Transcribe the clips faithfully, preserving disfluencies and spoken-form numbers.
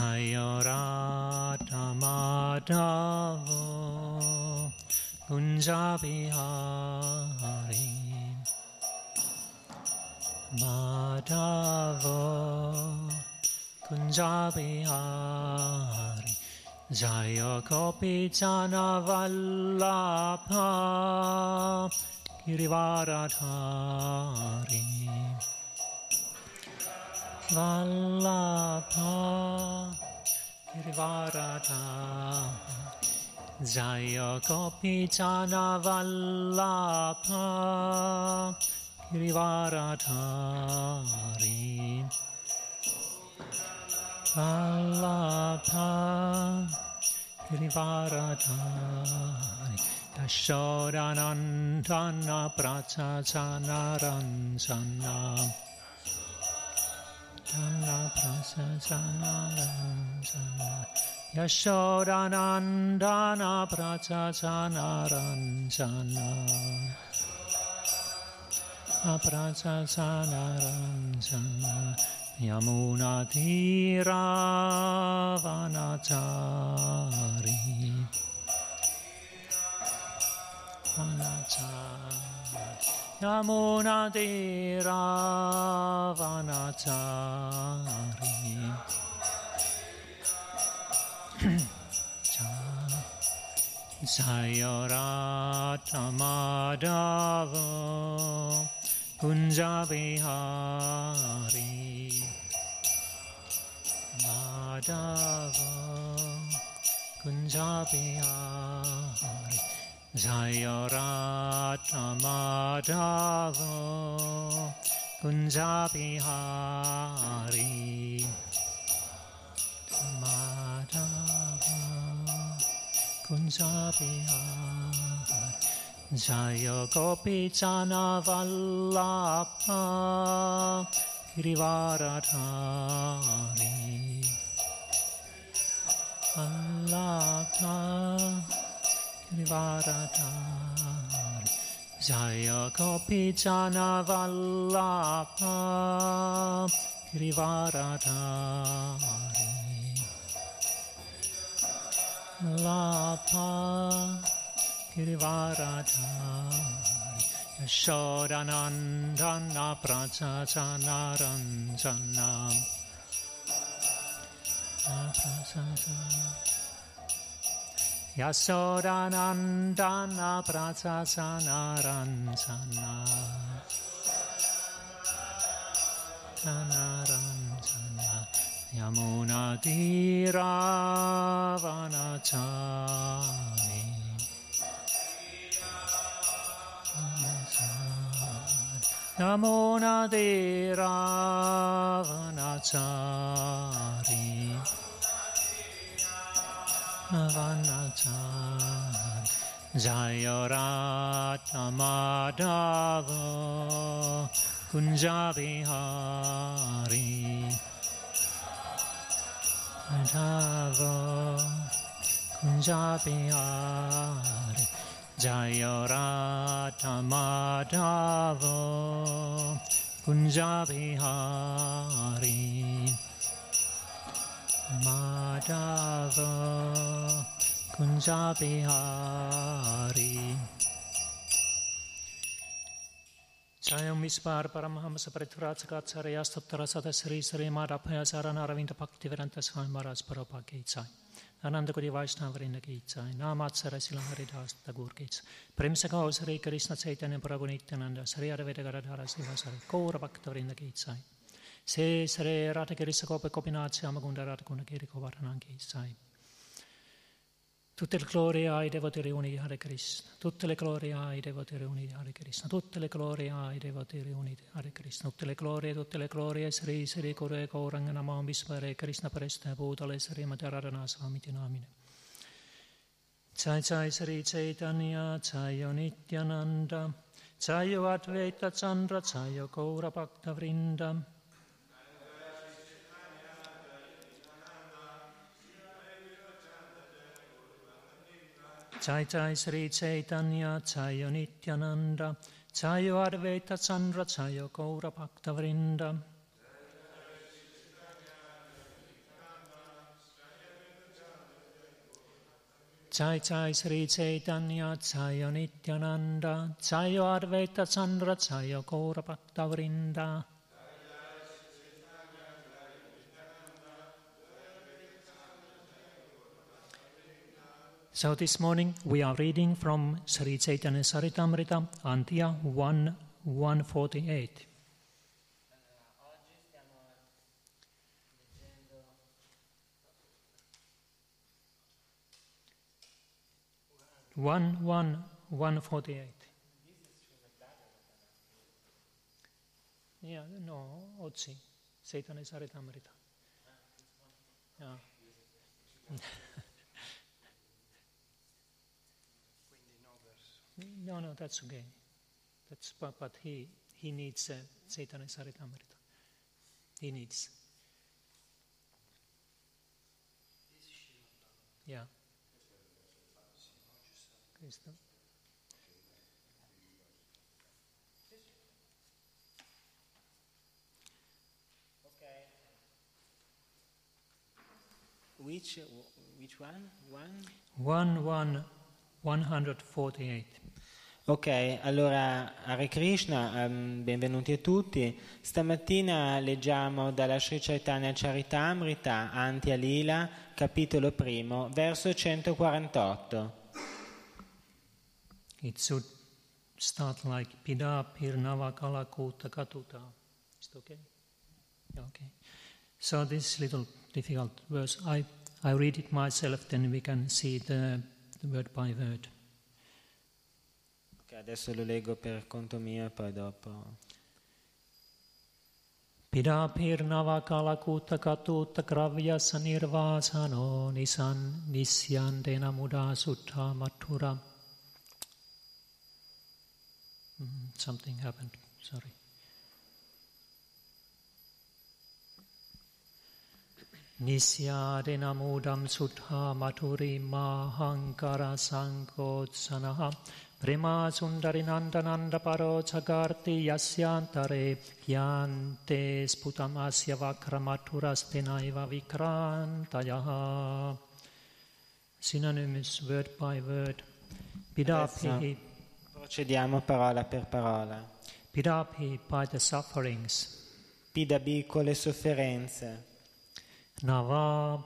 Jaya Radha Madhava Kunja Bihari Madhava Kunja Bihari Jaya Gopi Jana Vallabha Girivaradhari Vallabha Girivaradhari Jaya Gopi Jana Vallabha Girivaradhari Vallabha Girivaradhari Yashodanandana Prachachanaranjana Dana Prachachanaranjana Yashodanandana Prachachanaranjana Prachachanaranjana Yamuna Tira Vanachari Vanachari Yamuna Tira Vanachari Jaya Radha Madhava Kunja Bihari Madhava Kunja Bihari Jaya Radha Madhava Kunja Bihari Madhava Kunja Bihari Jaya Gopi Jana Vallabha Girivaradhari Vallabha Girivaradhari Jaya Gopi Jana Vallabha Girivaradhari Vallabha Girivaradhari Yashodanandana Prachachanaranjana Yashodanandana Prachachanaranjana Naranjana Yamuna Tira Vanachari Yamuna Tira Vanachari Vanachari Jaya Radha Madhava Kunja Bihari Madhava Kunja Bihari Jaya Radha Madhava Kunja Bihari Madhava Kunja Bihari Jayam Vispar Paramahamsa Pritvrajakatsarya Stottara Sada Sri Sri Madhapaya Sarana Ravinda Bhaktivedanta Swami Maharaj Prabhupada Ki Jai Ananda Kodi Vaishnava Vrinda Ki Jai Namatsara Srila Haridas Thakur Ki Jai Prem Sakha Sri Krishna Chaitanya Prabhu Nityananda Sri Advaita Gadadhara Srivasari Gaura Bhakta Vrinda Ki Jai Se Sri Radha Kirisa Gopa Gopinath Shyamagunda Radha Guna Giri Govardhana Ki Jai Tutte le glorie ai devoti riuniti Hare Krishna, tutte le glorie ai devoti riuniti Hare Krishna, tutte le glorie ai devoti riuniti Hare Krishna, tutte le glorie, tutte le glorie, Sri Sri Kore Gauranga Namam Vispare Krishna Preste Bhutale Sri Madharadana Swamiti Namine. Jai Jai Sri Chaitanya, Jai Nityananda, Jai Advaita Chandra, Jai Gaura Bhakta Vrinda. Jai Jai Sri Chaitanya, Jai Nityananda, Jai Advaita Chandra, Jai Gaura Bhakta Vrinda. Jai Jai Sri Chaitanya Jaya Nityananda Jaya Advaita Chandra Jaya Gaura Bhakta Vrinda. So this morning we are reading from Sri Chaitanya Charitamrita, Antya one one forty-eight. one one one forty-eight. Yeah, no, oggi Chaitanya Charitamrita. Yeah. No, no, that's okay. That's but, but he he needs uh, Chaitanya Charitamrita. He needs. Yeah. Questo. Okay. Which which one? One? One one one hundred forty-eight. Ok, allora Hare Krishna, um, benvenuti a tutti. Stamattina leggiamo dalla Sri Chaitanya Charitamrita, Antya Lila, capitolo primo, verso centoquarantotto. It should start like Pida Pirnava Kalakuta Katuta. Is it okay? Yeah, okay. So this little difficult verse, I, I read it myself, then we can see the, the word by word. Ok, adesso lo leggo per conto mio e poi dopo. Pida Pirnava Kalakuta Katuta Kravya Sanirvasano Nisan Nisyandena Muda Sutta Mathura. Mm, something happened, sorry. Nisyadena mudam sudha maturi mahankara sankotsanaha prema sundari nandananda paro chagarti yasyantare yante sputam asya vakramaturastenaiva vikrantayaha. Synonymous word by word. Pidapihi. Procediamo parola per parola. Pidapihi by the sufferings. Pidabi con le sofferenze. Nava,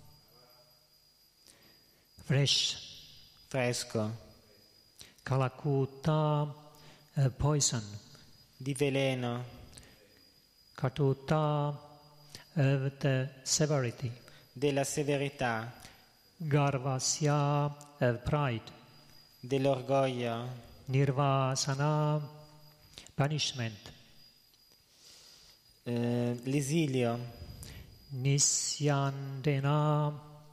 fresh, fresco. Kalakuta, uh, poison. Di veleno. Katuta, uh, the severity. Della severità. Garvasya, uh, pride. Dell'orgoglio. Nirvasana, punishment. Uh, l'esilio. Nisyandena,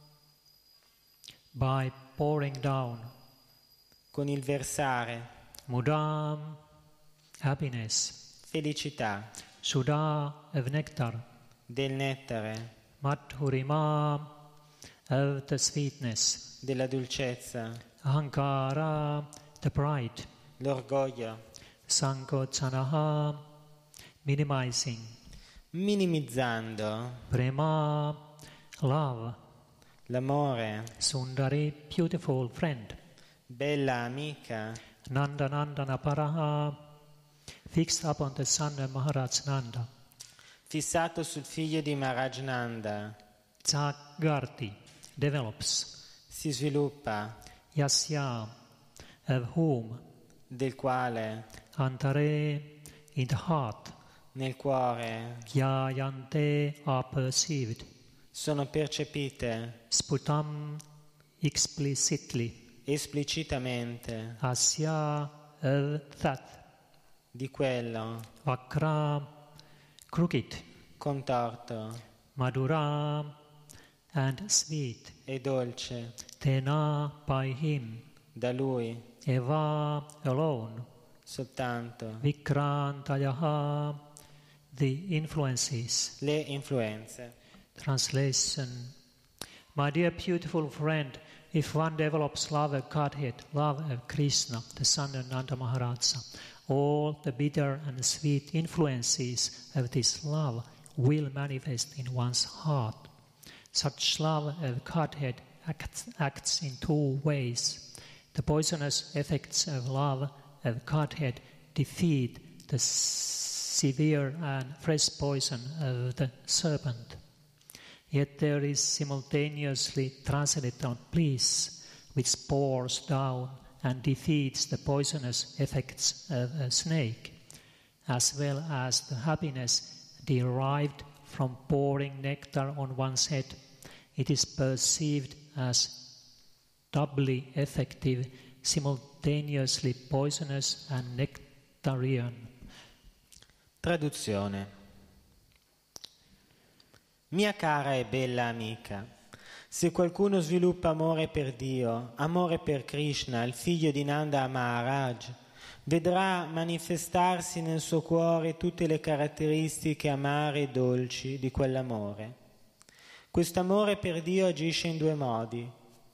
by pouring down. Con il versare. Mudam, happiness. Felicità. Sudha, of nectar. Del nettare. Madhurima, of the sweetness. Della dolcezza. Ahankara, the pride. L'orgoglio. Sankochanaha, minimizing. Minimizzando. Prema, love. L'amore. Sundari, beautiful friend. Bella amica. Nanda Nandana Paraha, fixed upon the son of Maharaj Nanda. Fissato sul figlio di Maharaj Nanda. Jagarti, develops. Si sviluppa. Yasya, of whom. Del quale. Antare, in the heart. Nel cuore. Yayante are perceived. Sono percepite. Sputam, explicitly. Esplicitamente. Asya, of that. Di quello. Vakra, crooked. Contorto. Madhura, and sweet. E dolce. Tena, by him. Da lui. Eva, alone. Soltanto. Vikrantayaha, the influences. Le influenze. Translation. My dear beautiful friend, if one develops love of Godhead, love of Krishna, the son of Nanda Maharaja, all the bitter and sweet influences of this love will manifest in one's heart. Such love of Godhead acts, acts in two ways. The poisonous effects of love of Godhead defeat the severe and fresh poison of the serpent. Yet there is simultaneously transcendental bliss which pours down and defeats the poisonous effects of a snake, as well as the happiness derived from pouring nectar on one's head. It is perceived as doubly effective, simultaneously poisonous and nectarian. Traduzione. Mia cara e bella amica, se qualcuno sviluppa amore per Dio, amore per Krishna, il figlio di Nanda Maharaj, vedrà manifestarsi nel suo cuore tutte le caratteristiche amare e dolci di quell'amore. Quest'amore per Dio agisce in due modi.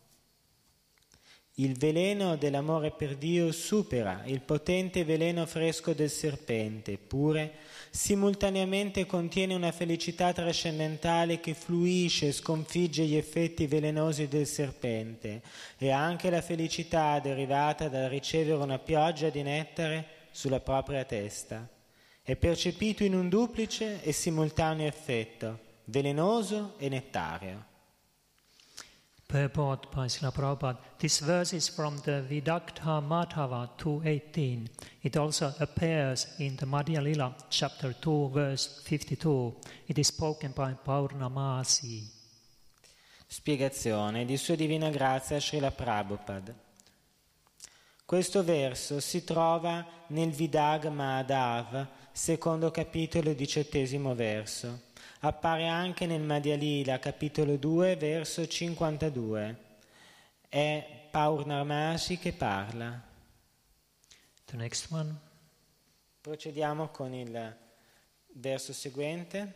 Il veleno dell'amore per Dio supera il potente veleno fresco del serpente, eppure simultaneamente contiene una felicità trascendentale che fluisce e sconfigge gli effetti velenosi del serpente, e anche la felicità derivata dal ricevere una pioggia di nettare sulla propria testa. È percepito in un duplice e simultaneo effetto, velenoso e nettario. Purport by Srila Prabhupada. This verse is from the Vidagdha Madhava two eighteen. It also appears in the Madhya Lila chapter two verse fifty-two. It is spoken by Purnamasi. Spiegazione di Sua Divina Grazia Srila Prabhupada. Questo verso si trova nel Vidag Madhav, secondo capitolo, diciottesimo verso. Appare anche nel Madhya Lila, capitolo due, verso cinquantadue. È Purnamasi che parla. The next one. Procediamo con il verso seguente.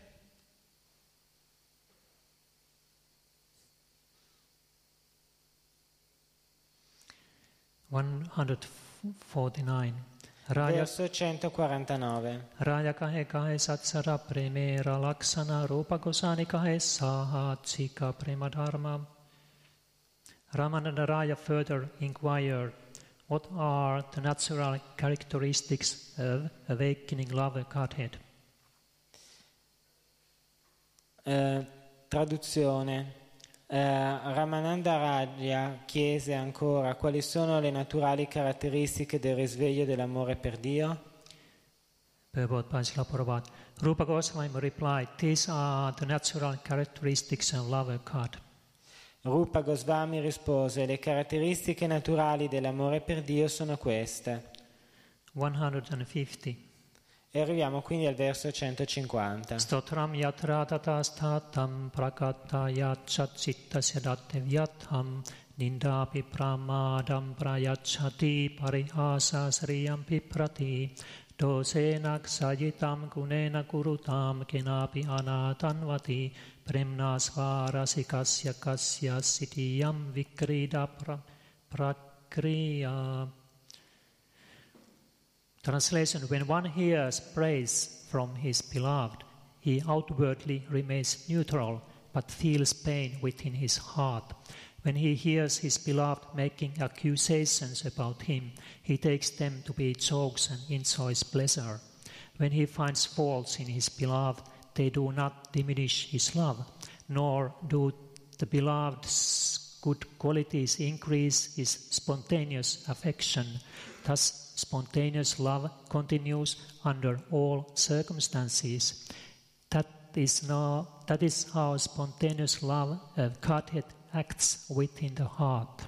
one forty-nine. Raya, verso centoquarantanove. Raya kahe kahe satsara premera laksana rupa gosani kahe sahatsika prema dharma. Ramananda Raya further inquired, what are the natural characteristics of awakening love of Godhead? Eh, traduzione. Eh, Ramananda Raya chiese ancora quali sono le naturali caratteristiche del risveglio dell'amore per Dio. Purport by Srila Prabhupada. Rupa Goswami replied, these are the natural characteristics of love of God. Rupa Goswami rispose, le caratteristiche naturali dell'amore per Dio sono queste. one fifty. E arriviamo quindi al verso centocinquanta. Stotram yatra tatastatam prakata yachatcittasya dattevyatham nindapi pramadam prayachati parihasa sriyam piprati dosenak sajitam gunena kurutam kenapi anatanvati premna svarasikasya kasya sitiyam vikrida pra, prakriya. Translation: when one hears praise from his beloved, he outwardly remains neutral, but feels pain within his heart. When he hears his beloved making accusations about him, he takes them to be jokes and enjoys pleasure. When he finds faults in his beloved, they do not diminish his love, nor do the beloved's good qualities increase his spontaneous affection. Thus, spontaneous love continues under all circumstances. That is, no, that is how spontaneous love of Godhead acts within the heart.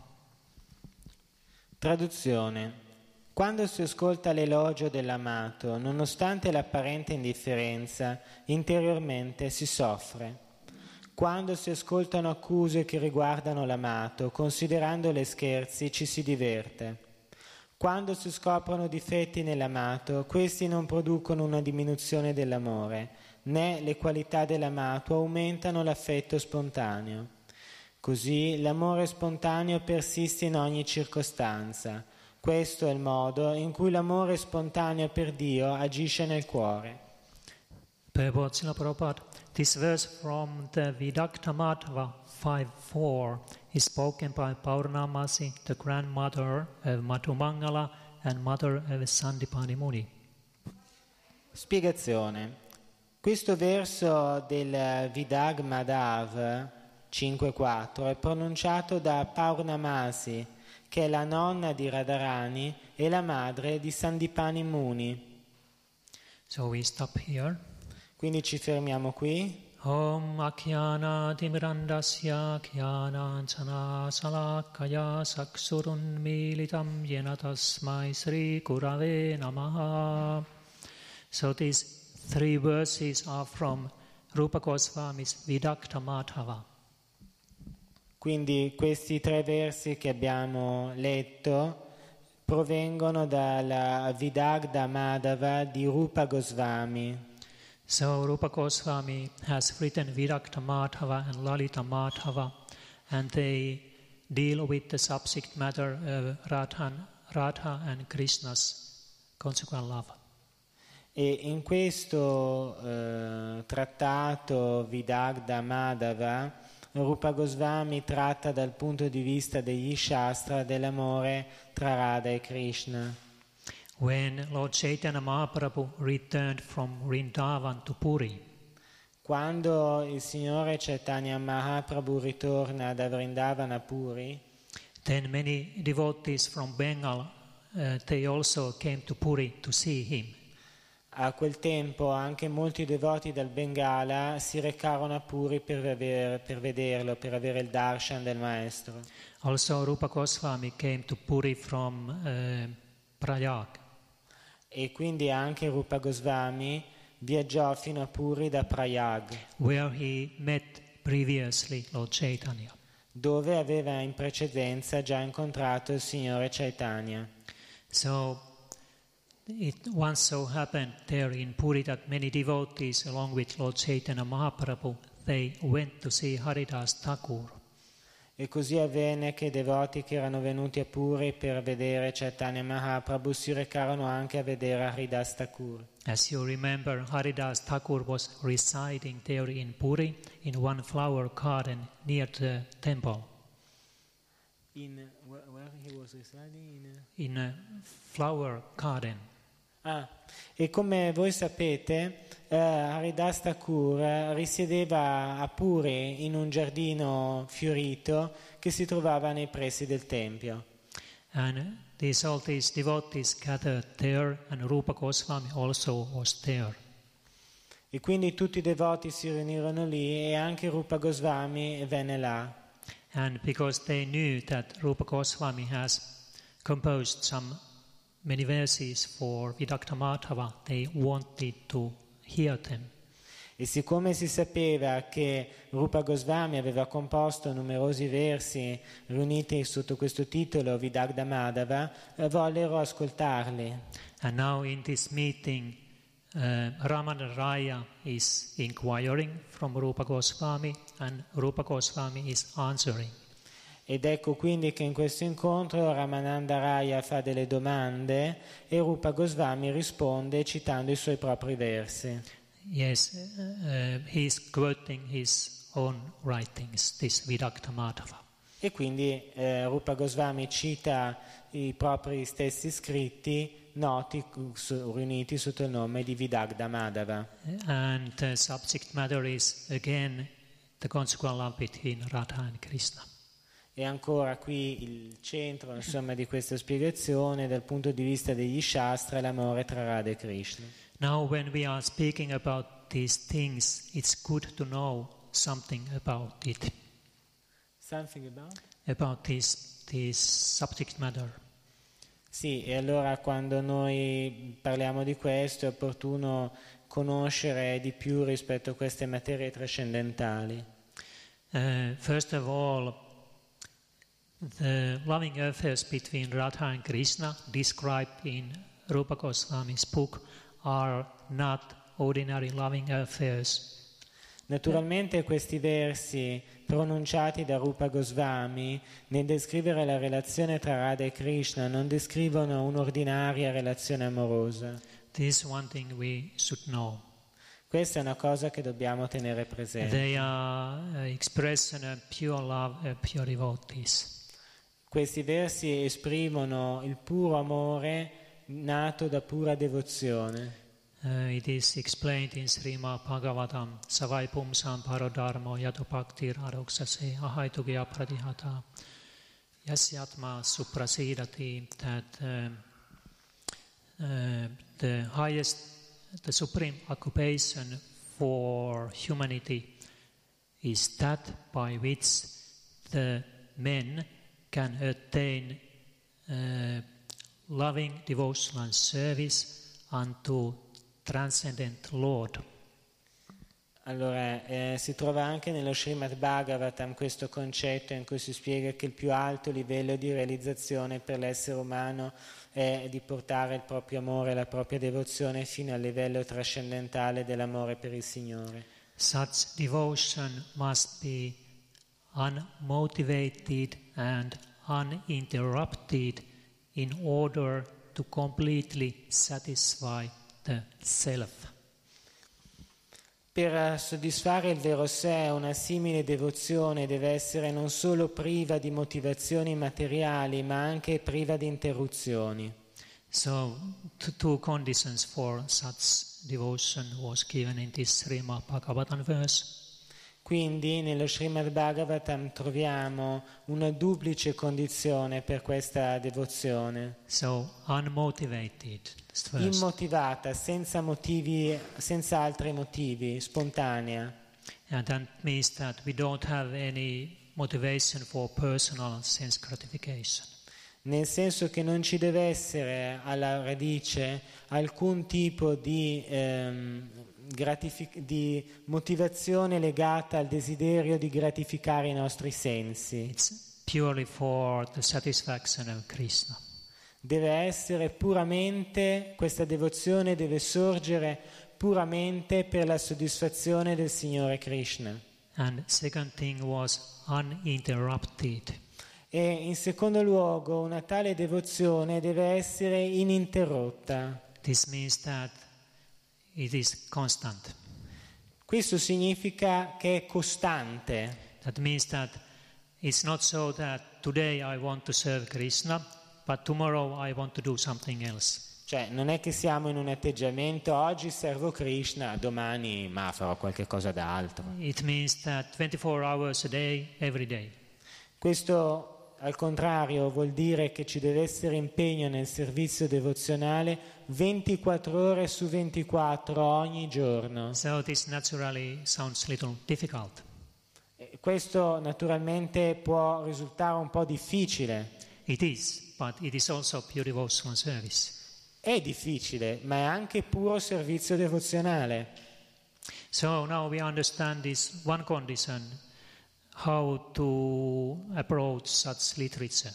Traduzione. Quando si ascolta l'elogio dell'amato, nonostante l'apparente indifferenza, interiormente si soffre. Quando si ascoltano accuse che riguardano l'amato, considerandole scherzi, ci si diverte. Quando si scoprono difetti nell'amato, questi non producono una diminuzione dell'amore, né le qualità dell'amato aumentano l'affetto spontaneo. Così l'amore spontaneo persiste in ogni circostanza. Questo è il modo in cui l'amore spontaneo per Dio agisce nel cuore. Purport Srila Prabhupada. This verse from the Vidagdha Madhava five four is spoken by Purnamasi, the grandmother of Madhumangala and mother of Sandipani Muni. Spiegazione. Questo verso del Vidag Madhav cinque quattro è pronunciato da Purnamasi, che è la nonna di Radharani e la madre di Sandipani Muni. So we stop here. Quindi ci fermiamo qui. Om Akhyana Timirandasya Khyana Anjana Salakaya Saksurun Militam Yena Tasmai Sri Gurave Namaha. So these three verses are from Rupa Goswami's Vidakta Madhava. Quindi questi tre versi che abbiamo letto provengono dalla Vidagda Madhava di Rupa Goswami. So Rupa Goswami has written Vidakta Madhava and Lalita Madhava, and they deal with the subject matter of Radha, Radha and Krishna's consequent love. E in questo eh, trattato Vidagda Madhava Rupa Goswami tratta dal punto di vista degli Shastra dell'amore tra Radha e Krishna. When Lord Chaitanya Mahaprabhu returned from Vrindavan to Puri, quando il Signore Chaitanya Mahaprabhu ritorna da Vrindavan a Puri, then many devotees from Bengal, uh, they also came to Puri to see him. A quel tempo anche molti devoti dal Bengala si recarono a Puri per, aver, per vederlo, per avere il darshan del maestro. Also Rupa Goswami came to Puri from uh, Prayag. E quindi anche Rupa Goswami viaggiò fino a Puri da Prayag, where he met previously Lord Chaitanya. Dove aveva in precedenza già incontrato il Signore Chaitanya. So it once so happened there in Puri that many devotees along with Lord Chaitanya Mahaprabhu, they went to see Haridas Thakur. E così avvenne che i devoti che erano venuti a Puri per vedere Chaitanya Mahaprabhu si recarono anche a vedere Haridas Thakur. As you remember, Haridas Thakur was residing there in Puri in one flower garden near the temple. In where he was residing? In, in a flower garden. Ah, e come voi sapete, eh, Haridas Thakur risiedeva a Puri in un giardino fiorito che si trovava nei pressi del tempio. And these, all these devotees gathered there, and Rupa Goswami also was there. E quindi tutti i devoti si riunirono lì e anche Rupa Goswami venne là. And because they knew that Rupa Goswami has composed some many verses for Vidakta Madhava, they wanted to hear them. E siccome si sapeva che Rupa Goswami aveva composto numerosi versi riuniti sotto questo titolo Vidagda Madhava, vollero ascoltarli. And now in this meeting, uh, Ramana Raya is inquiring from Rupa Goswami, and Rupa Goswami is answering. Ed ecco quindi che in questo incontro Ramananda Raya fa delle domande e Rupa Goswami risponde citando i suoi propri versi. Yes, uh, he is quoting his own writings, this Vidakta Madhava. E quindi eh, Rupa Goswami cita i propri stessi scritti noti, su, riuniti sotto il nome di Vidagda Madhava. And the subject matter is again the consequent love between Radha and Krishna. E ancora qui il centro, insomma, di questa spiegazione dal punto di vista degli Shastra è l'amore tra Radha e Krishna. Now when we are speaking about these things, it's good to know something about it. Something about? About this, this subject matter. Sì, e allora quando noi parliamo di questo è opportuno conoscere di più rispetto a queste materie trascendentali. Uh, first of all, the loving affairs between Radha and Krishna described in Rupa Goswami's book are not ordinary loving affairs. Naturalmente questi versi pronunciati da Rupa Goswami nel descrivere la relazione tra Radha e Krishna non descrivono un'ordinaria relazione amorosa. This is one thing we should know. Questa è una cosa che dobbiamo tenere presente. They are expression of pure love, of pure devotees. Questi versi esprimono il puro amore nato da pura devozione. Uh, it is explained in Srimad Bhagavatam, Savai Pumsam Parodharmo Yato Bhaktir Aroksase Ahaitugya Pradihata Yasyatma Suprasidati, that uh, uh, the highest, the supreme occupation for humanity is that by which the men can attain uh, loving devotional service unto Transcendent Lord. Allora, eh, si trova anche nello Srimad Bhagavatam questo concetto in cui si spiega che il più alto livello di realizzazione per l'essere umano è di portare il proprio amore e la propria devozione fino al livello trascendentale dell'amore per il Signore. Such devotion must be unmotivated and uninterrupted in order to completely satisfy the self. Per soddisfare il vero sé, una simile devozione deve essere non solo priva di motivazioni materiali, ma anche priva di interruzioni. So, two conditions for such devotion was given in this Srimad Bhagavatam verse. Quindi nello Srimad Bhagavatam troviamo una duplice condizione per questa devozione. So, unmotivated. Immotivata, senza motivi, senza altri motivi, spontanea. And that means that we don't have any motivation for personal sense gratification. Nel senso che non ci deve essere alla radice alcun tipo di ehm, gratific- di motivazione legata al desiderio di gratificare i nostri sensi. It's purely for the satisfaction of Krishna. Deve essere puramente, questa devozione deve sorgere puramente per la soddisfazione del Signore Krishna. And second thing was uninterrupted. E in secondo luogo una tale devozione deve essere ininterrotta. This means that it is constant. Questo significa che è costante. That means that it's not so that today I want to serve Krishna, but tomorrow I want to do something else. Cioè, non è che siamo in un atteggiamento oggi servo Krishna, domani ma farò qualche cosa d'altro. It means that twenty-four hours a day, every day. Questo al contrario vuol dire che ci deve essere impegno nel servizio devozionale ventiquattro ore su ventiquattro ogni giorno. So this naturally sounds a little difficult. E questo naturalmente può risultare un po' difficile. It is, but it is also pure devotional service. È difficile, ma è anche puro servizio devozionale. So now we understand this one condition, how to approach such literature.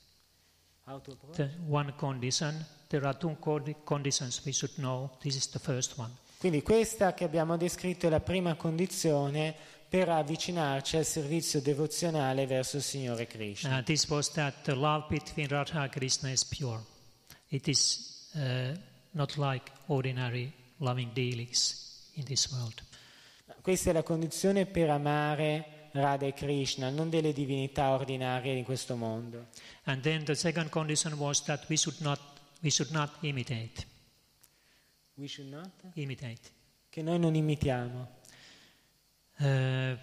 How to approach? The one condition, there are two conditions we should know. This is the first one. Quindi questa che abbiamo descritto è la prima condizione per avvicinarci al servizio devozionale verso il Signore Krishna. Uh, this was that the love between Radha and Krishna is pure. It is uh, not like ordinary loving dealings in this world. Questa è la condizione per amare Radha e Krishna, non delle divinità ordinarie di questo mondo. And then the second condition was that we should not we should not imitate. We should not? Imitate. Che noi non imitiamo. Uh,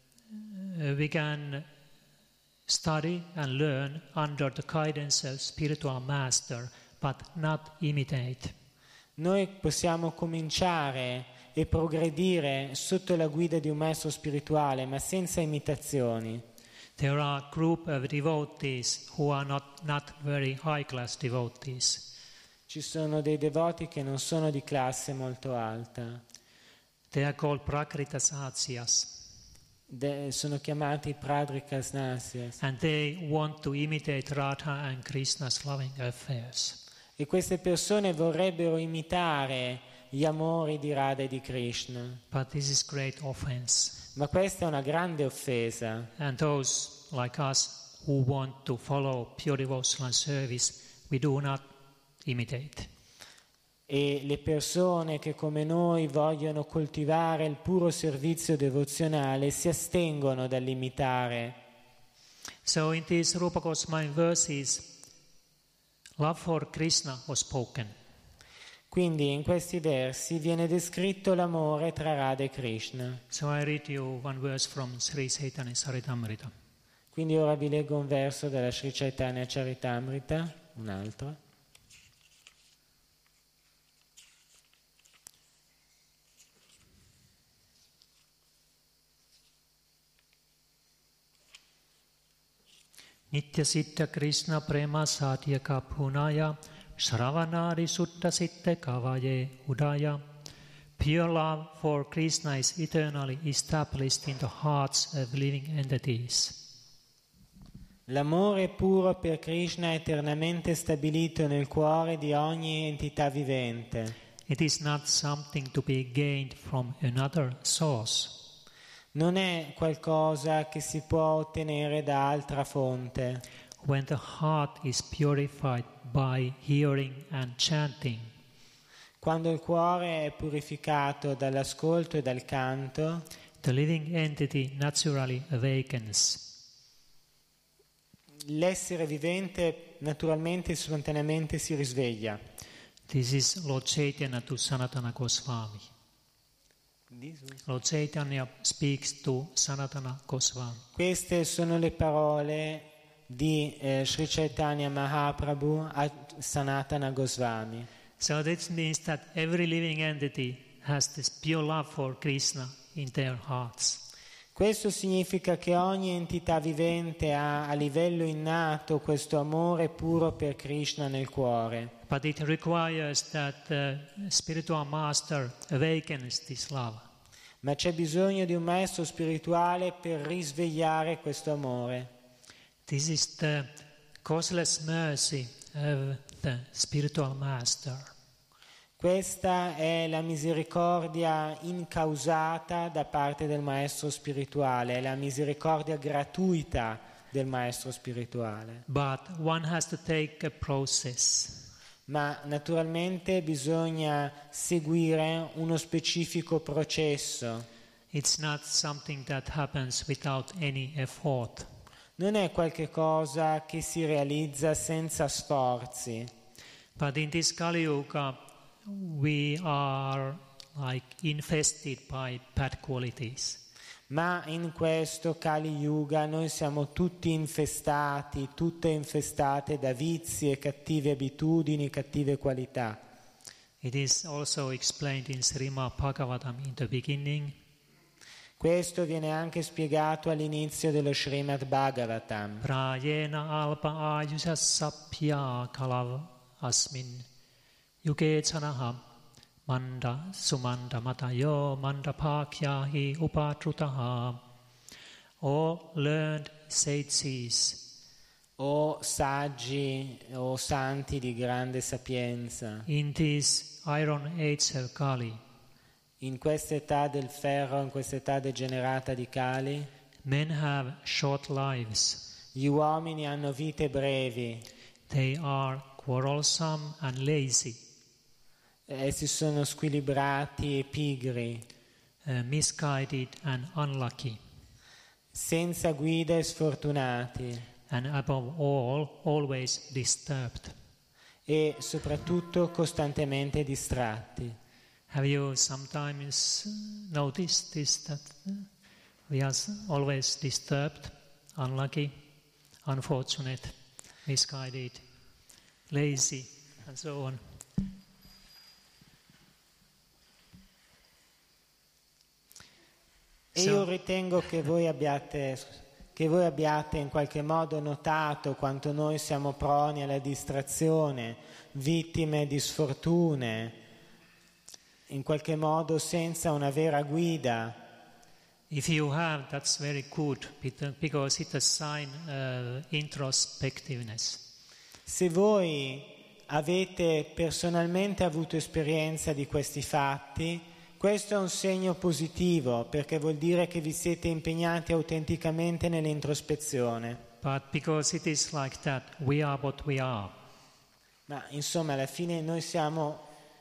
we can study and learn under the guidance of spiritual master, but not imitate. Noi possiamo cominciare e progredire sotto la guida di un maestro spirituale, ma senza imitazioni. There are a group of devotees who are not, not very high class devotees. Ci sono dei devoti che non sono di classe molto alta. They are called Prakritasatsyas. De, sono chiamati Pradrikasnasyas. And they want to imitate Radha and Krishna's loving affairs. E queste persone vorrebbero imitare gli amori di Radha e di Krishna. But this is great offense. Ma questa è una grande offesa. And those like us who want to follow pure devotional service, we do not imitate. e le persone che come noi vogliono coltivare il puro servizio devozionale si astengono dall'imitare. So in these Rupa Goswami verses, love for Krishna was spoken. Quindi in questi versi viene descritto l'amore tra Radha e Krishna. So I read you one verse from Sri Chaitanya Charitamrita. Quindi ora vi leggo un verso della Sri Chaitanya Charitamrita, un altro. Nitya Siddha Krishna Prema Satyaka Punaya Shravanari Sutta Sitte Kavaye Udaya. Pure love for Krishna is eternally established in the hearts of living entities. L'amore puro per Krishna è eternamente stabilito nel cuore di ogni entità vivente. It is not something to be gained from another source. Non è qualcosa che si può ottenere da altra fonte. When the heart is purified by hearing and chanting, quando il cuore è purificato dall'ascolto e dal canto, the living entity naturally awakens. L'essere vivente naturalmente e spontaneamente si risveglia. This is Lord Chaitanya to Sanatana Goswami. Lord Chaitanya speaks to Sanatana Goswami. Queste sono le parole di eh, Sri Chaitanya Mahaprabhu a Sanatana Goswami. So that means that every living entity has this pure love for Krishna in their hearts. Questo significa che ogni entità vivente ha a livello innato questo amore puro per Krishna nel cuore. But it requires that the spiritual master awakens this love. Ma c'è bisogno di un maestro spirituale per risvegliare questo amore. This is the causeless mercy of the spiritual master. Questa è la misericordia incausata da parte del maestro spirituale, la misericordia gratuita del maestro spirituale. But one has to take a process. Ma naturalmente bisogna seguire uno specifico processo. It's not something that happens without any effort. Non è qualche cosa che si realizza senza sforzi. But in this Kali Yuga, we are like infested by bad qualities. Ma in questo Kali Yuga noi siamo tutti infestati, tutte infestate da vizi e cattive abitudini, cattive qualità. It is also explained in Srimad Bhagavatam in the beginning. Questo viene anche spiegato all'inizio dello Srimad Bhagavatam. Prayena alpa ayusha sappya kalav asmin yuge chanaha manda sumanda matayo manda pakyahi upatrutaha. O learned sages, O saggi, o santi di grande sapienza, in this iron age of Kali, in questa età del ferro, in questa età degenerata di Kali, men have short lives. gli uomini hanno vite brevi. They are quarrelsome and lazy. Essi sono squilibrati e pigri, Uh, misguided and unlucky, senza guida e sfortunati, and above all, always disturbed. e soprattutto costantemente distratti. Have you sometimes noticed this, that uh, we are always disturbed, unlucky, unfortunate, misguided, lazy, and so on? E io ritengo che voi abbiate, che voi abbiate in qualche modo notato quanto noi siamo proni alla distrazione, vittime di sfortune, in qualche modo senza una vera guida. If you have, that's very good, because it's a sign of introspectiveness. Se voi avete personalmente avuto esperienza di questi fatti, questo è un segno positivo, perché vuol dire che vi siete impegnati autenticamente nell'introspezione. But because it is like that, we are what we are. Ma insomma, alla fine noi siamo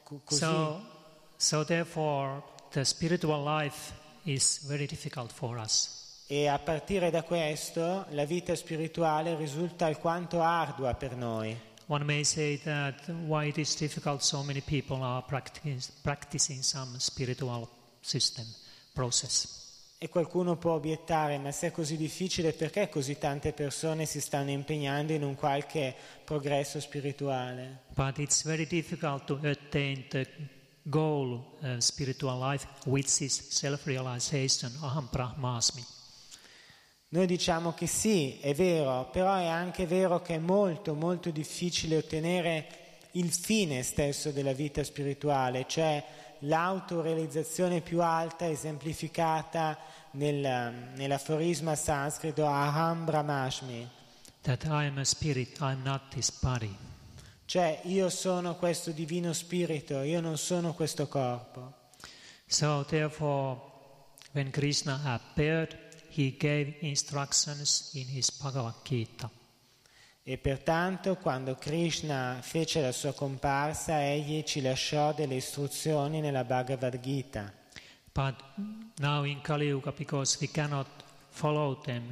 co- così. So, so therefore, the spiritual life is very difficult for us. E a partire da questo la vita spirituale risulta alquanto ardua per noi. One may say that why it is difficult, so many people are practic- practicing some spiritual system, process. E qualcuno può obiettare, ma se è così difficile, perché così tante persone si stanno impegnando in un qualche progresso spirituale? But it's very difficult to attain the goal of spiritual life, which is self-realization, aham brahmasmi. Noi diciamo che sì, è vero, però è anche vero che è molto, molto difficile ottenere il fine stesso della vita spirituale, cioè l'autorealizzazione più alta esemplificata nel, nell'aforisma sanscrito Aham Brahmasmi. That I am a spirit, I am not this body. Cioè io sono questo divino spirito, io non sono questo corpo. So therefore, when Krishna appeared, he gave instructions in his Bhagavad Gita. E pertanto quando Krishna fece la sua comparsa, egli ci lasciò delle istruzioni nella Bhagavad Gita. But now in Kali Yuga, because we cannot follow them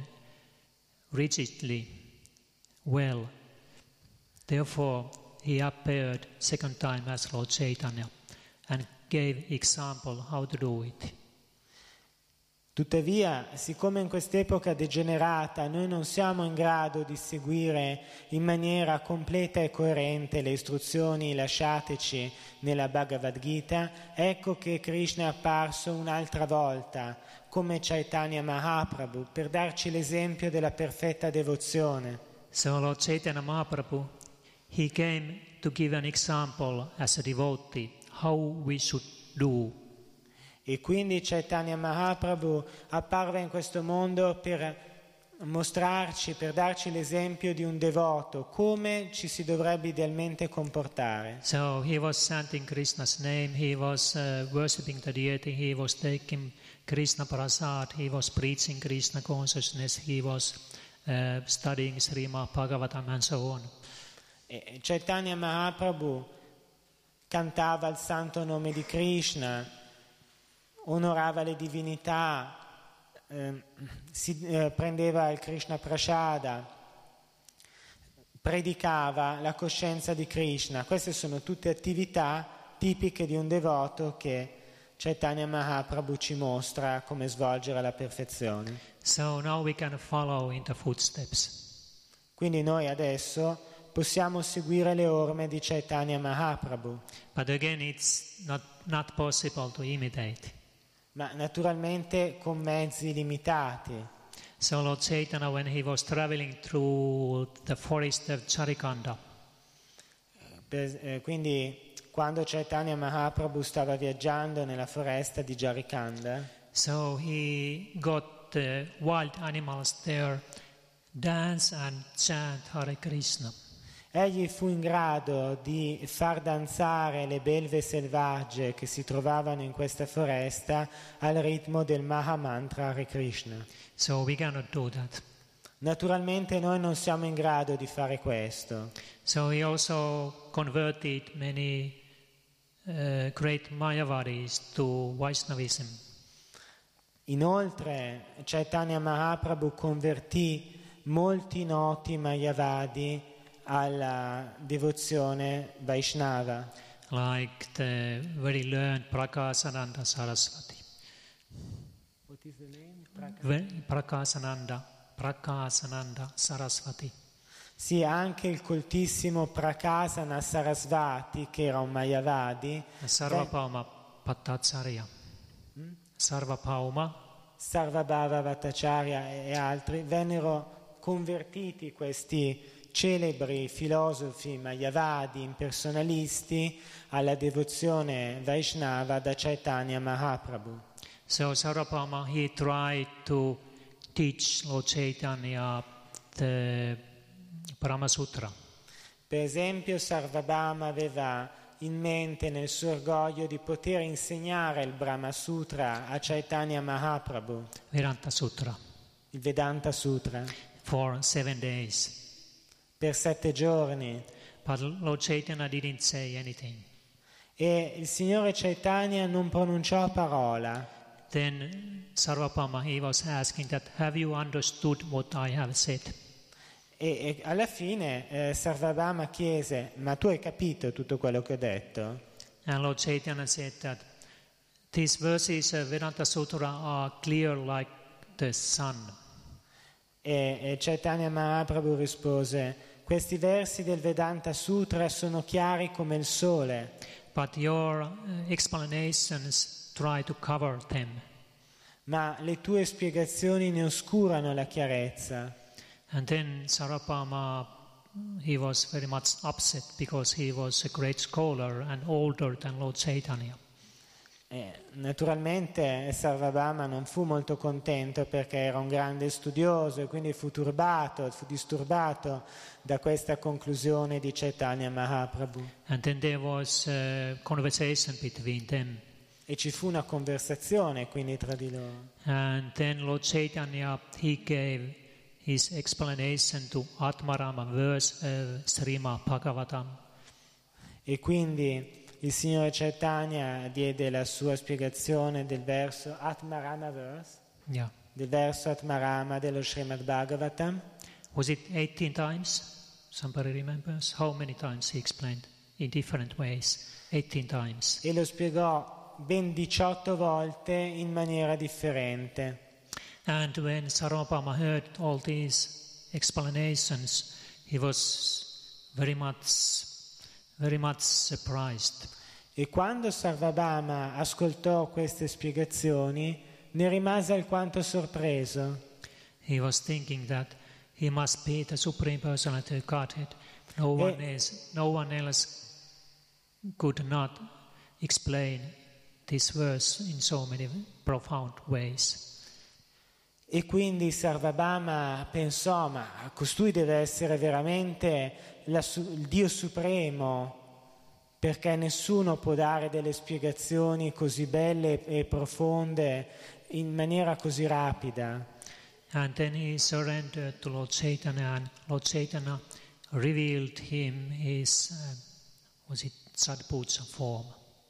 rigidly well, therefore he appeared second time as Lord Chaitanya and gave example how to do it. Tuttavia, siccome in quest'epoca degenerata noi non siamo in grado di seguire in maniera completa e coerente le istruzioni lasciateci nella Bhagavad Gita, ecco che Krishna è apparso un'altra volta come Chaitanya Mahaprabhu per darci l'esempio della perfetta devozione. So Lord Chaitanya Mahaprabhu, he came to give an example as a devotee how we should do. E quindi Chaitanya Mahaprabhu apparve in questo mondo per mostrarci, per darci l'esempio di un devoto, come ci si dovrebbe idealmente comportare. So he was chanting Krishna's name, he was uh, worshipping the deity, he was taking Krishna Prasad, he was preaching Krishna consciousness, he was uh, studying Srimad Bhagavatam and so on. E Chaitanya Mahaprabhu cantava il santo nome di Krishna, onorava le divinità, eh, si eh, prendeva il Krishna Prasada, predicava la coscienza di Krishna. Queste sono tutte attività tipiche di un devoto che Chaitanya Mahaprabhu ci mostra come svolgere alla perfezione. So now we can follow in the footsteps. Quindi noi adesso possiamo seguire le orme di Chaitanya Mahaprabhu. But again, it's not, not possible to imitate. Ma naturalmente con mezzi limitati. So Lord Chaitanya, when he was traveling through the forest of Charikanda, Per, eh, quindi quando Chaitanya Mahaprabhu stava viaggiando nella foresta di Jarikanda, so he got the wild animals there, dance and chant Hare Krishna. egli fu in grado di far danzare le belve selvagge che si trovavano in questa foresta al ritmo del Mahamantra Hare Krishna. So we cannot do that. Naturalmente noi non siamo in grado di fare questo. So he also converted many uh, great Mayavadis to Vaishnavism. Inoltre Chaitanya Mahaprabhu convertì molti noti Mayavadi alla devozione Vaishnava, Like the very learned Prakasananda Saraswati. What is the name? Ve- Prakasananda, Prakasananda Saraswati. Sì, anche il coltissimo Prakasana Sarasvati, che era un Mayavadi, Sarvabhauma Bhattacharya. Sarvabhauma, Sarvabhava Bhattacharya e altri, vennero convertiti questi celebri filosofi Mayavadi, impersonalisti, alla devozione Vaishnava da Chaitanya Mahaprabhu. so Sarvabhauma, he tried to teach Lord Chaitanya the Brahma Sutra. Per esempio Sarvabhauma aveva in mente nel suo orgoglio di poter insegnare il Brahma Sutra a Chaitanya Mahaprabhu, Vedanta Sutra, il Vedanta Sutra, for seven days. per sette giorni. But Lord Chaitanya didn't say anything. E il Signore Chaitanya non pronunciò parola. Then Sarvabhauma, he was asking that, have you understood what I have said? E, e alla fine eh, Sarvabhauma chiese, ma tu hai capito tutto quello che ho detto? And Lord Chaitanya said that these verses of Vedanta Sutra are clear like the sun. E, e Chaitanya Mahaprabhu rispose, questi versi del Vedanta Sutra sono chiari come il sole. But your uh, explanations try to cover them. Ma le tue spiegazioni ne oscurano la chiarezza. And then Sarvabhauma, he was very much upset because he was a great scholar and older than Lord Chaitanya. Eh, naturalmente Sarvabhauma non fu molto contento perché era un grande studioso e quindi fu turbato, fu disturbato da questa conclusione di Chaitanya Mahaprabhu. And then there was a conversation between them. E ci fu una conversazione quindi tra di loro. And then Lord Chaitanya, he gave his explanation to Atmarama verse of Srimad Bhagavatam. E quindi il Signore Chaitanya diede la sua spiegazione del verso Atmarama verse, Yeah. del verso Atmarama dello Srimad Bhagavatam. Was it eighteen times? Somebody remembers? How many times he explained in different ways? eighteen times. E lo spiegò ben diciotto volte in maniera differente. And when Sarvabhauma heard all these explanations, he was very much, very much surprised. E quando Sarvabhauma ascoltò queste spiegazioni, ne rimase alquanto sorpreso. He was thinking that he must be the Supreme Personality of Godhead. No one E- else, no one else could not explain this verse in so many profound ways. E quindi Sarvabhauma pensò, ma costui deve essere veramente la su- il Dio Supremo, perché nessuno può dare delle spiegazioni così belle e profonde in maniera così rapida. And then he surrendered to Lord Chaitanya, and Lord Chaitanya revealed him his, uh, was it Sadpuja form?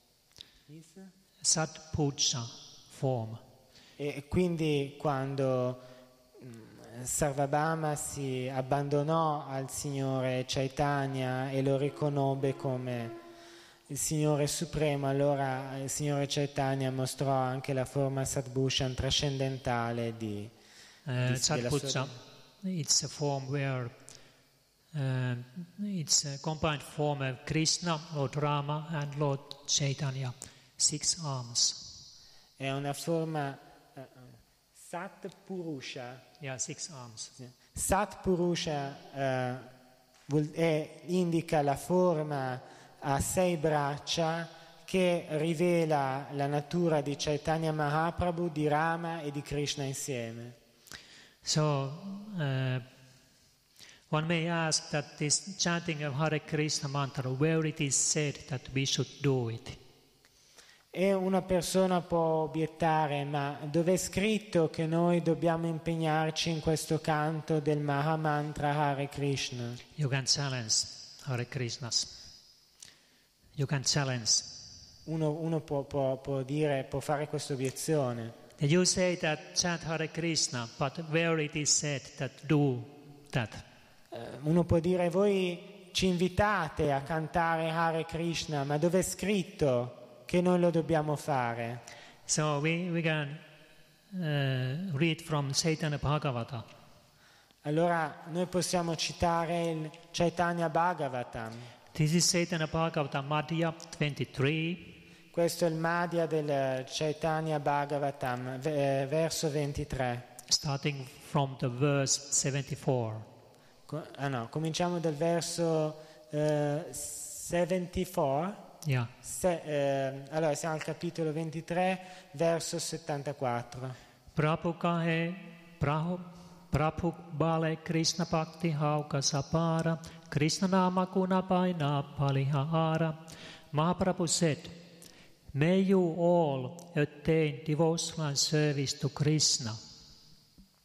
Sadpuja form. E quindi quando mm, Sarvabhauma si abbandonò al Signore Chaitanya e lo riconobbe come il Signore Supremo, allora il Signore Chaitanya mostrò anche la forma Sadbhushan trascendentale di, Uh, di della Sadpuja, sua- it's a form where uh, it's a combined form of Krishna, Lord Rama, and Lord Chaitanya, six arms. È una forma uh, Sat Purusha. Yeah, six arms. Sat Purusha eh, vuol- è- indica la forma a sei braccia che rivela la natura di Chaitanya Mahaprabhu, di Rama e di Krishna insieme. So, uh, one may ask that this chanting of Hare Krishna mantra, where it is said that we should do it. E una persona può obiettare, ma dov'è scritto che noi dobbiamo impegnarci in questo canto del Mahamantra Hare Krishna? You can challenge Hare Krishnas. You can challenge. Uno, uno può, può- può dire, può fare questa obiezione. You say that chant Hare Krishna, but where it is said that do that. Eh, Uno può dire, voi ci invitate a cantare Hare Krishna, ma dov'è scritto che noi lo dobbiamo fare? So we, we can uh, read from Chaitanya Bhagavata. Allora noi possiamo citare il Chaitanya Bhagavatam. This is Chaitanya Bhagavata Madhya twenty-three, Questo è il Madhya del Chaitanya Bhagavatam, ve- eh, verso ventitré. starting from the verse seventy-four. Co- ah no, cominciamo dal verso eh, settantaquattro. Yeah. Se- eh, allora siamo al capitolo ventitré, verso settantaquattro. Prabhu kahe, Prabhu, Prabhu bale Krishna bhakti hauka sapara, Krishna nama guna paina palihara. Mahaprabhu said, may you all attain devotional service to Krishna.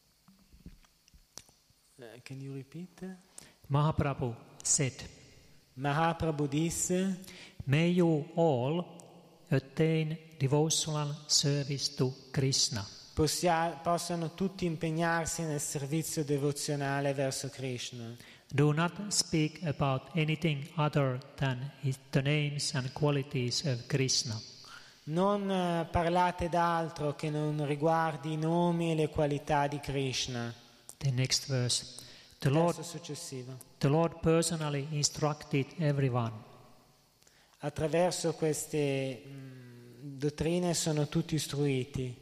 Eh, Can you repeat? Mahaprabhu said, Mahaprabhu disse: May you all attain devotional service to Krishna. Possia- possano tutti impegnarsi nel servizio devozionale verso Krishna. Do not speak about anything other than his, the names and qualities of Krishna. Non eh, parlate d'altro che non riguardi i nomi e le qualità di Krishna. The next verse. The Lord, Verso successivo. the Lord personally instructed everyone. Attraverso queste mh, dottrine sono tutti istruiti.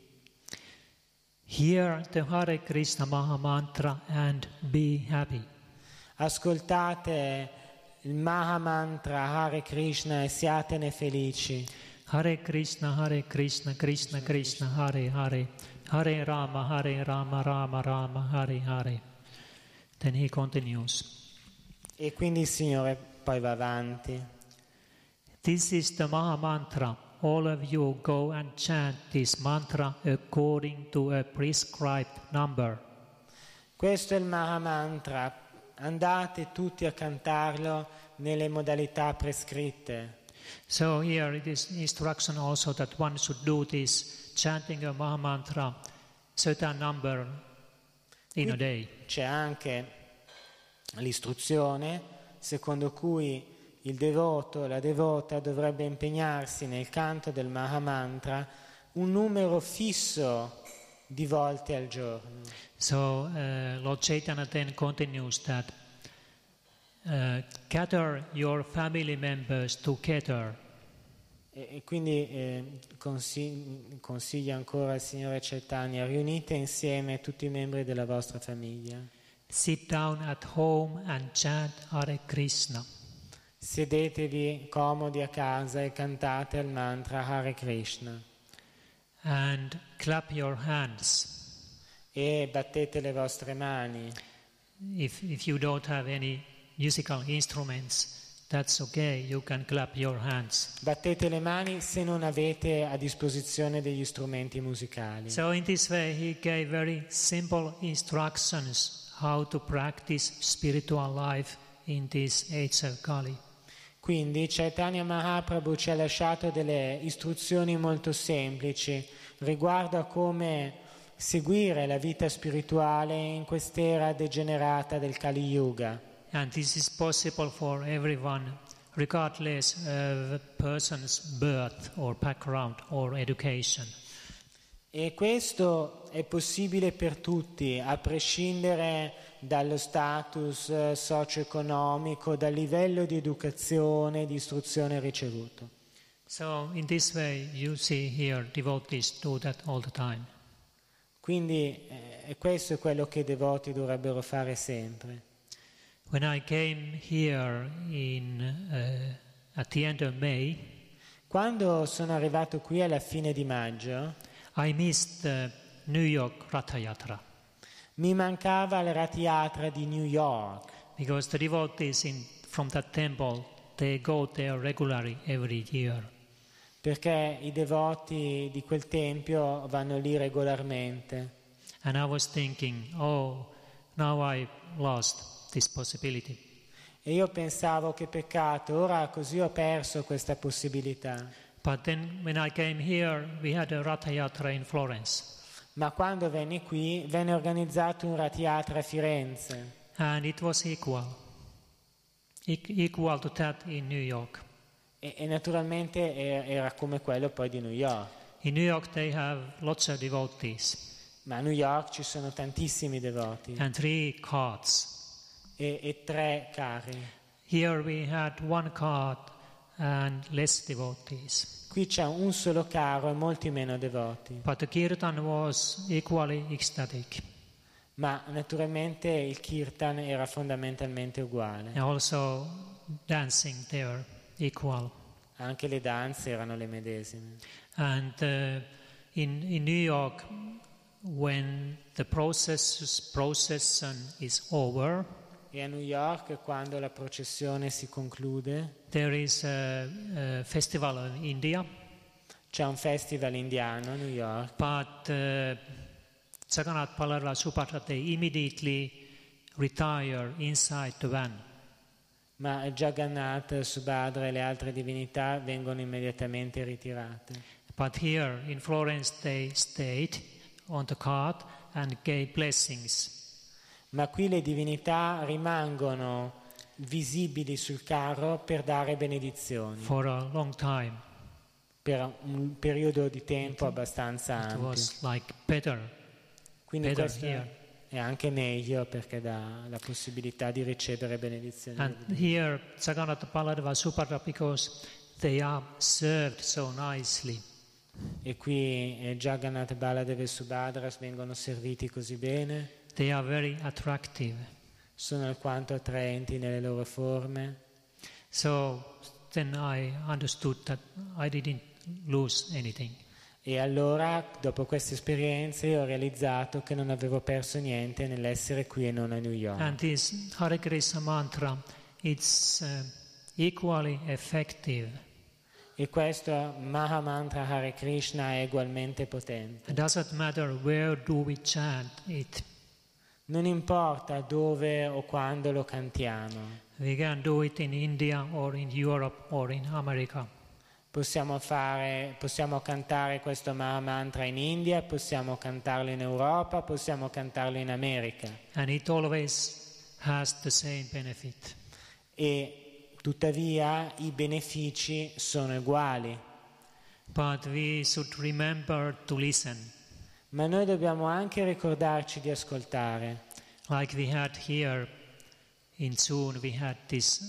Hear the Hare Krishna Maha Mantra and be happy. Ascoltate il Maha Mantra Hare Krishna e siatene felici. Hare Krishna, Hare Krishna, Krishna Krishna, Hare Hare, Hare Rama, Hare Rama, Rama Rama, Hare Hare. Then he continues. E quindi il Signore poi va avanti. This is the Maha Mantra. All of you go and chant this mantra according to a prescribed number. Questo è il Maha Mantra. Andate tutti a cantarlo nelle modalità prescritte. So here it is instruction also that one should do this chanting a Maha Mantra certain number in a day. C'è anche l'istruzione secondo cui il devoto, la devota dovrebbe impegnarsi nel canto del Maha Mantra un numero fisso di volte al giorno. So uh, Lord Chaitanya then continues that uh, gather your family members together. E, e quindi eh, consiglia, consiglia ancora il Signore Chaitanya: riunite insieme tutti i membri della vostra famiglia. Sit down at home and chant Hare Krishna. Sedetevi comodi a casa e cantate il mantra Hare Krishna. And clap your hands. E battete le vostre mani. If, if you don't have any musical instruments, that's okay, you can clap your hands. Battete le mani se non avete a disposizione degli strumenti musicali. So in this way he gave very simple instructions how to practice spiritual life in this age of Kali. Quindi Chaitanya Mahaprabhu ci ha lasciato delle istruzioni molto semplici riguardo a come seguire la vita spirituale in quest'era degenerata del Kali Yuga. And this is possible for everyone, regardless of a person's birth or background or education. E questo è possibile per tutti, a prescindere dallo status eh, socio-economico, dal livello di educazione e di istruzione ricevuto. So in this way you see here devotees do that all the time. Quindi eh, questo è quello che i devoti dovrebbero fare sempre. When I came here in, uh, at the end of May, Quando sono arrivato qui alla fine di maggio, I missed the New York Ratha Yatra mi mancava il Rath Yatra di New York, because the devotees in, from that temple, they go there regularly every year. perché i devoti di quel tempio vanno lì regolarmente. And I was thinking, oh, now I lost this possibility. E io pensavo: che peccato, ora così ho perso questa possibilità. But then when I came here, we had a Ratha Yatra in Florence. Ma quando venni qui, venne organizzato un Rath Yatra a Firenze. And it was equal, e- equal to that in New York. E, e naturalmente era, era come quello poi di New York. In New York they have lots of devotees Ma a New York ci sono tantissimi devoti and three carts. e, e tre carri. Here we had one cart and less devotees. Qui c'è un solo carro e molti meno devoti. But the kirtan was equally ecstatic. Ma naturalmente il kirtan era fondamentalmente uguale. And also dancing there, equal. Anche le danze erano le medesime. And uh, in, in New York, when the process, procession is over, E a New York, quando la processione si conclude, there is a, a festival in India, c'è un festival indiano a New York. but uh, Jagannath Balaram Subhadra, they immediately retire inside the van. Ma Jagannath, Subhadra e le altre divinità vengono immediatamente ritirate. But here in Florence they stayed on the cart and gave blessings. Ma qui le divinità rimangono visibili sul carro per dare benedizioni. For a long time. Per un periodo di tempo it, abbastanza it ampio. Was like better. Quindi better questo here. È anche meglio perché dà la possibilità di ricevere benedizioni. And here Jagannath Baladeva Subhadra because they are served so nicely. E qui eh, Jagannath, Baladeva e Subhadra vengono serviti così bene. They are very attractive. Sono alquanto attraenti nelle loro forme. So then I understood that I didn't lose anything. E allora, dopo queste esperienze, ho realizzato che non avevo perso niente nell'essere qui e non a New York. And this Hare Krishna mantra, it's uh, equally effective. E questo Maha Mantra Hare Krishna è ugualmente potente. It doesn't matter where do we chant it. Non importa dove o quando lo cantiamo. We can do it in India or in Europe or in America. Possiamo fare, possiamo cantare questo Maha Mantra in India, possiamo cantarlo in Europa, possiamo cantarlo in America. And it always has the same benefit. E tuttavia i benefici sono uguali. But we should remember to listen. Ma noi dobbiamo anche ricordarci di ascoltare. Like we had here in June, we had this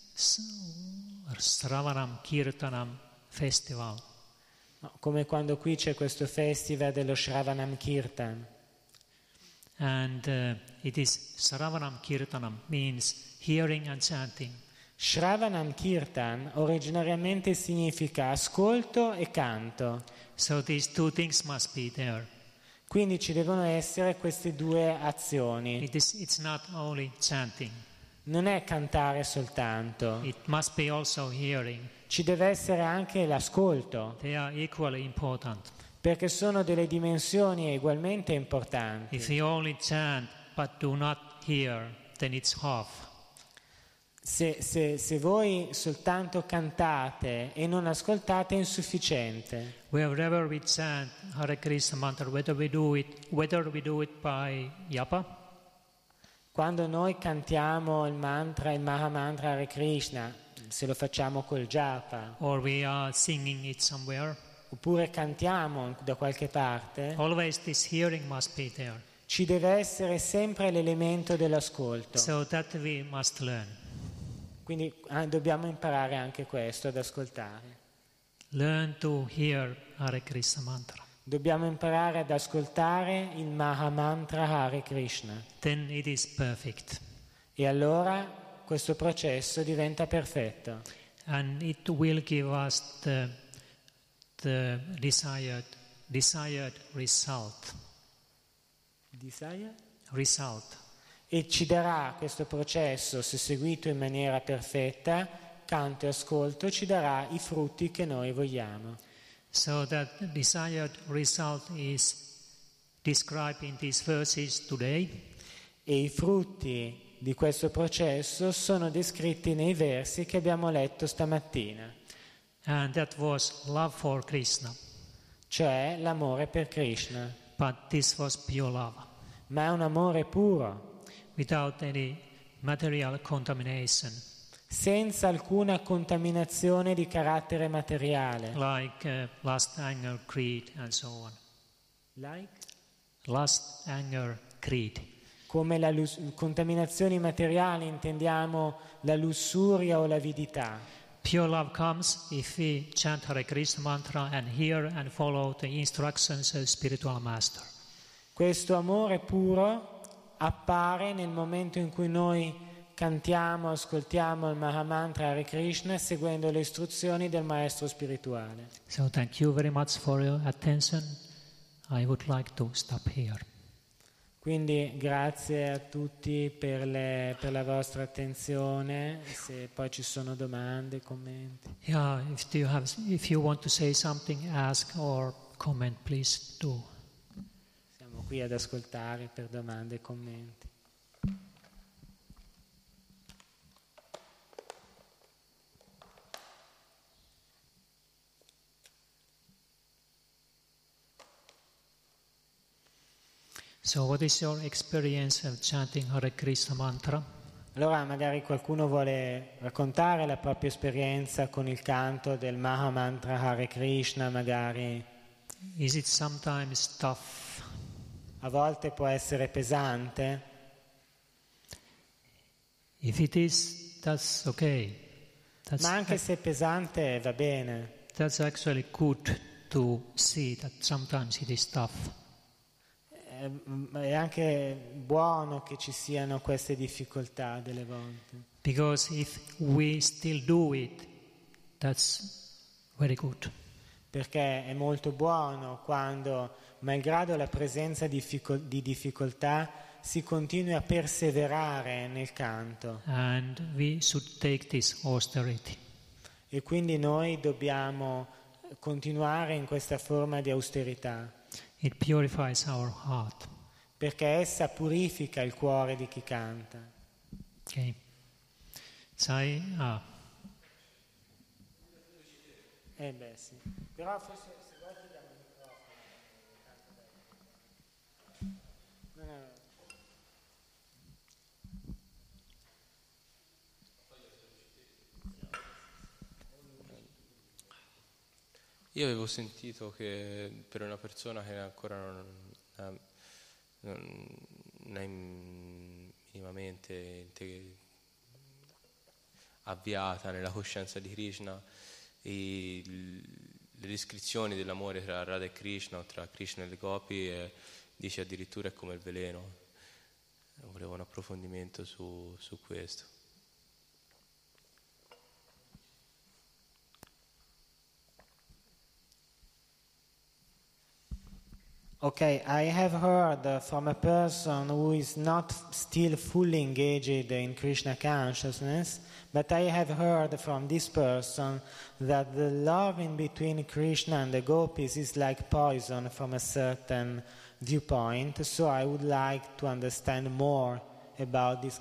Sravanam Kirtanam festival. Come quando qui c'è questo festival dello Shravanam Kirtan. And uh, it is Sravanam Kirtanam means hearing and chanting. Shravanam Kirtan originariamente significa ascolto e canto. So these two things must be there. Quindi ci devono essere queste due azioni. It is, it's not only chanting. Non è cantare soltanto. It must be also hearing. Ci deve essere anche l'ascolto. They are equally important. Perché sono delle dimensioni ugualmente importanti. If you only chant but do not hear, then it's half. Se, se, se voi soltanto cantate e non ascoltate è insufficiente. Wherever we chant Hare Krishna mantra, whether we do it, whether we do it by japa, quando noi cantiamo il mantra, il Maha Mantra Hare Krishna, se lo facciamo col japa, or we are singing it somewhere, oppure cantiamo da qualche parte, always this hearing must be there. Ci deve essere sempre l'elemento dell'ascolto. So that we must learn. Quindi ah, dobbiamo imparare anche questo, ad ascoltare. Learn to hear Hare Krishna mantra. Dobbiamo imparare ad ascoltare il Maha Mantra Hare Krishna. Then it is perfect. E allora questo processo diventa perfetto. And it will give us the, the desired, desired result. Desired? Result. E ci darà questo processo, se seguito in maniera perfetta, canto e ascolto, ci darà i frutti che noi vogliamo. So that the desired result is described in these verses today. E i frutti di questo processo sono descritti nei versi che abbiamo letto stamattina. And that was love for Krishna. Cioè l'amore per Krishna. But this was pure love. Ma è un amore puro. Without any material contamination. Senza alcuna contaminazione di carattere materiale. Like uh, lust, anger, greed and so on. Like? Lust, anger, greed. Come la lus- contaminazioni materiali intendiamo la lussuria o l'avidità. Pure love comes if we chant Hare Krishna mantra and hear and follow the instructions of the spiritual master. Questo amore puro appare nel momento in cui noi cantiamo, ascoltiamo il Maha Mantra Hare Krishna seguendo le istruzioni del maestro spirituale. So thank you very much for your attention. I would like to stop here. Quindi grazie a tutti per, le, per la vostra attenzione. Se poi ci sono domande, commenti. Yeah, if you have, if you want to say something, ask or comment, please do. Siamo qui ad ascoltare per domande e commenti. So what is your experience of chanting Hare Krishna mantra? Allora magari qualcuno vuole raccontare la propria esperienza con il canto del Maha Mantra Hare Krishna, magari. Is it sometimes tough? A volte può essere pesante. If it is, that's okay. That's, Ma anche se è pesante va bene. That's actually good to see that sometimes it is tough. È anche buono che ci siano queste difficoltà delle volte. Because if we still do it, that's very good. Perché è molto buono quando, malgrado la presenza di difficoltà, si continua a perseverare nel canto. And we should take this austerity. E quindi noi dobbiamo continuare in questa forma di austerità. It purifies our heart. Perché essa purifica il cuore di chi canta. Okay. Sai, ah. Eh beh sì. Però forse se vuoi ti diamo il microfono. No, no, no. Io avevo sentito che per una persona che ancora non, non, non è minimamente avviata nella coscienza di Krishna, e le descrizioni dell'amore tra Radha e Krishna o tra Krishna e le gopi eh, dice addirittura è come il veleno. Volevo un approfondimento su, su questo. Okay, I have heard from a person who is not still fully engaged in Krishna consciousness, but I have heard from this person that the love in between Krishna and the gopis is like poison from a certain viewpoint, so I would like to understand more about this.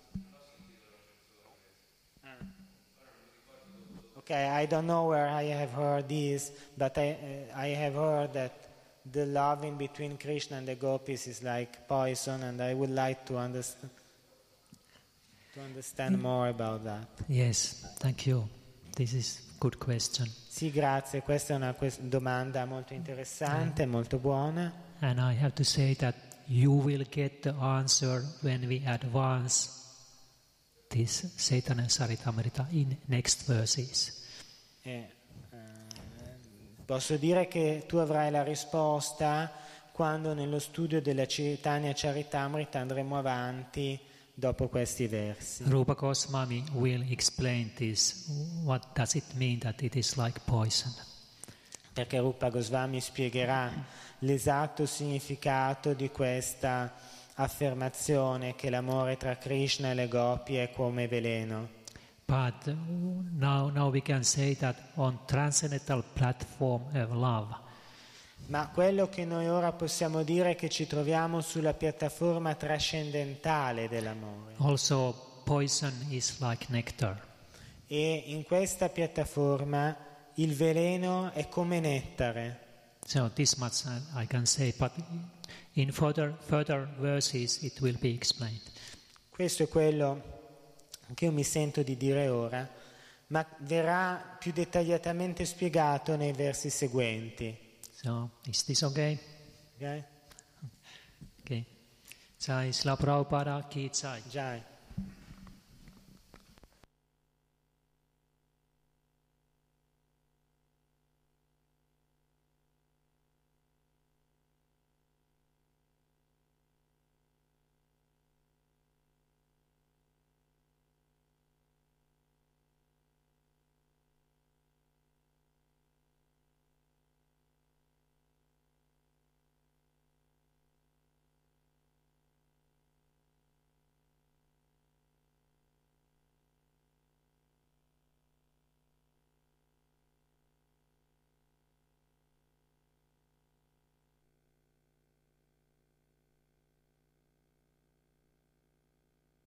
Okay, I don't know where I have heard this, but I, uh, I have heard that the love in between Krishna and the gopis is like poison, and I would like to understand to understand more about that. Yes, thank you. This is a good question. Sì, grazie. Questa è una quest- domanda molto interessante, mm. molto buona. And I have to say that you will get the answer when we advance this Chaitanya Charitamrita in next verses. Eh. Posso dire che tu avrai la risposta quando nello studio della Chaitanya Charitamrita andremo avanti dopo questi versi. Rupa Goswami will explain this. What does it mean that it is like poison? Perché Rupa Goswami spiegherà l'esatto significato di questa affermazione che l'amore tra Krishna e le gopi è come veleno. But now, now we can say that on transcendental platform of love. Ma quello che noi ora possiamo dire è che ci troviamo sulla piattaforma trascendentale dell'amore. Also, poison is like nectar. E in questa piattaforma il veleno è come nettare. So this much I, I can say, but in further further verses it will be explained. Questo è quello che io mi sento di dire ora, ma verrà più dettagliatamente spiegato nei versi seguenti. So, is this okay? Okay? Okay. Jai Srila Prabhupada ki jai. Jai.